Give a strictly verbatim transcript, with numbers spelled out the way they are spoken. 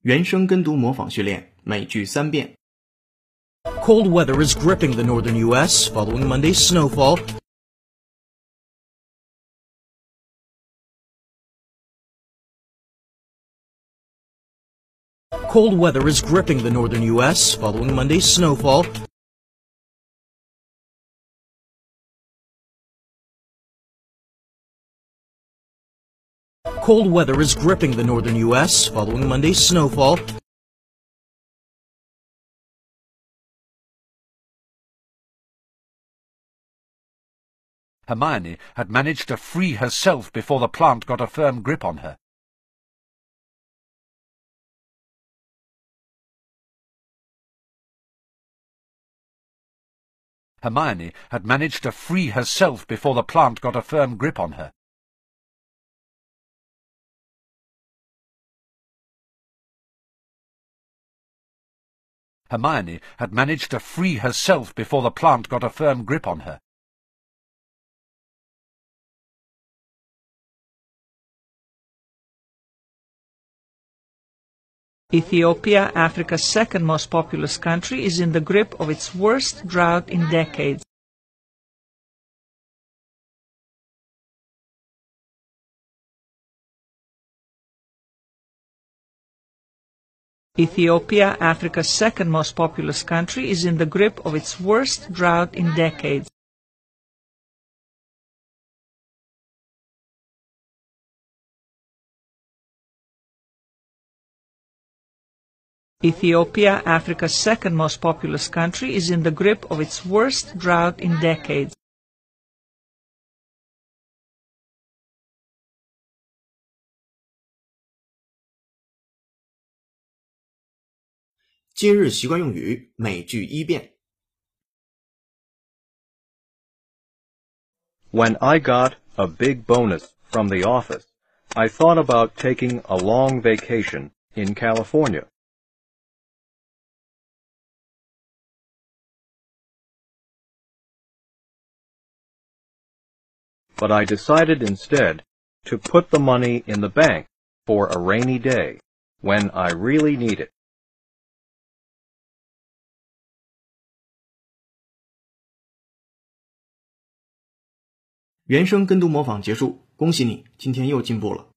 原声跟读模仿训练，每句三遍。 Cold weather is gripping the northern U S following Monday's snowfall. Cold weather is gripping the northern U S following Monday's snowfall. Cold weather is gripping the northern U S following Monday's snowfall. Hermione had managed to free herself before the plant got a firm grip on her. Hermione had managed to free herself before the plant got a firm grip on her. Hermione had managed to free herself before the plant got a firm grip on her. Ethiopia, Africa's second most populous country, is in the grip of its worst drought in decades. Ethiopia, Africa's second most populous country, is in the grip of its worst drought in decades. Ethiopia, Africa's second most populous country, is in the grip of its worst drought in decades. 今日习惯用语，每句一遍。 When I got a big bonus from the office, I thought about taking a long vacation in California. But I decided instead to put the money in the bank for a rainy day, when I really need it. 原声跟读模仿结束，恭喜你，今天又进步了。